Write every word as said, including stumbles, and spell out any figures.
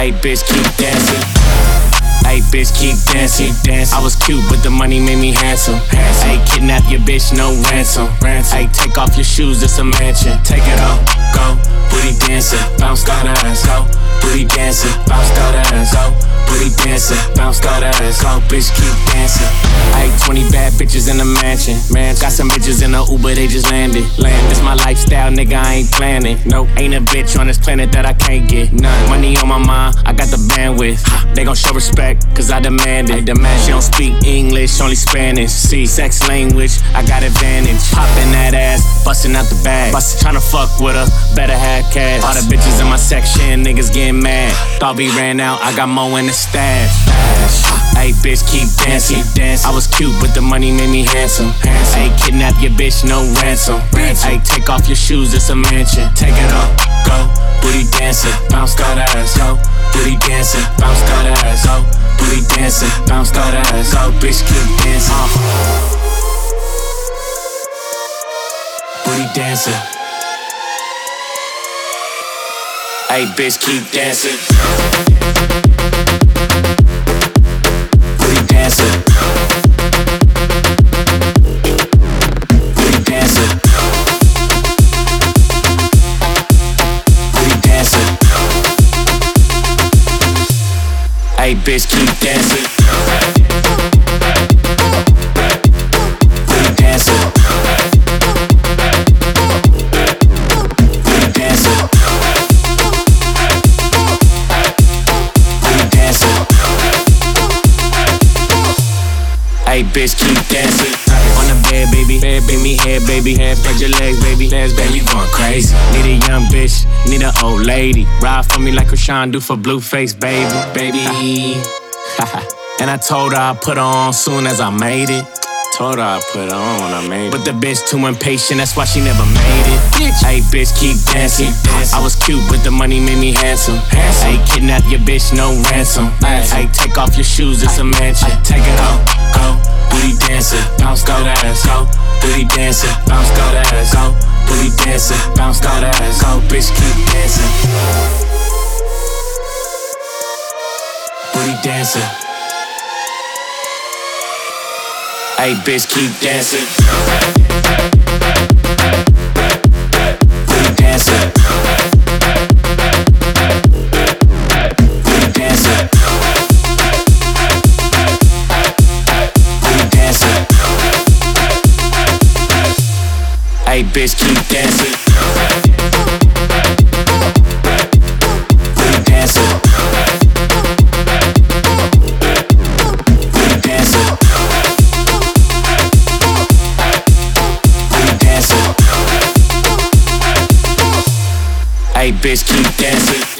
Hey, bitch, keep dancing. Hey, bitch, keep dancing. I was cute, but the money made me handsome. Hey, kidnap your bitch, no ransom. Hey, take off your shoes, it's a mansion. Take it off, go, booty dancing, bounce that ass, go, booty dancing, bounce that ass, go, booty dancing, bounce that ass, go, bitch, keep dancing. Hey, twenty bad bitches in the mansion, man. Got some bitches in the Uber, they just landed. Land, this my lifestyle, nigga, I ain't planning. Nope, ain't a bitch on this planet that I can't get none. Money on my mind, I got the bandwidth. They gon' show respect, cause I demand it. Demand she don't speak English, only Spanish. See, sex language, I got advantage. Poppin' that ass, bustin' out the bag. Bust, tryna fuck with her, better have cash. All the bitches in my section, niggas getting mad. Thought we ran out, I got more in the stash. Hey, bitch, keep dancing. I was cute, but the money made me handsome. Hey, kidnap your bitch, no ransom. Hey, take off your shoes, it's a mansion. Take it off, go, booty dancing, bounce that ass, go. Booty dancing, bounce that ass, go. Booty dancing, bounce that ass, go. Bitch, keep dancing. Uh. Booty dancing. Hey, bitch, keep dancing. Booty dancing. Booty dancing. Booty dancing. Hey, bitch, keep dancing. Booty dancing. Booty dancing. Booty dancing. Hey, bitch, keep dancing. On the bed, baby. Bed, baby, head, baby. Head, spread your legs, baby. Legs, baby, going crazy. Need a young bitch, need an old lady. Ride for me like Krishan do for Blueface, baby, baby. And I told her I'd put her on soon as I made it. Told her I'd put her on when I made it. But the bitch too impatient, that's why she never made it. Hey, bitch, keep dancing. I was cute, but the money made me handsome. Hey, kidnap your bitch, no ransom. Hey, take off your shoes, it's a mansion. Take it off, go, booty dancing, bounce that ass, go. Booty dancing, bounce that ass, go. Booty dancing, bounce that ass, go. Bitch, keep dancing. Booty dancing. Hey, bitch, keep dancing. Booty dancing. Booty dancing. Booty dancing. Hey, bitch, keep dancing. Booty dancing. Booty dancing. Hey, bitch, keep dancing.